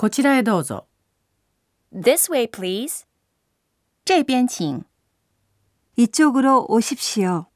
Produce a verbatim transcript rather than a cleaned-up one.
こちらへどうぞ。 This way, please. 这边请。 이쪽으로 오십시오.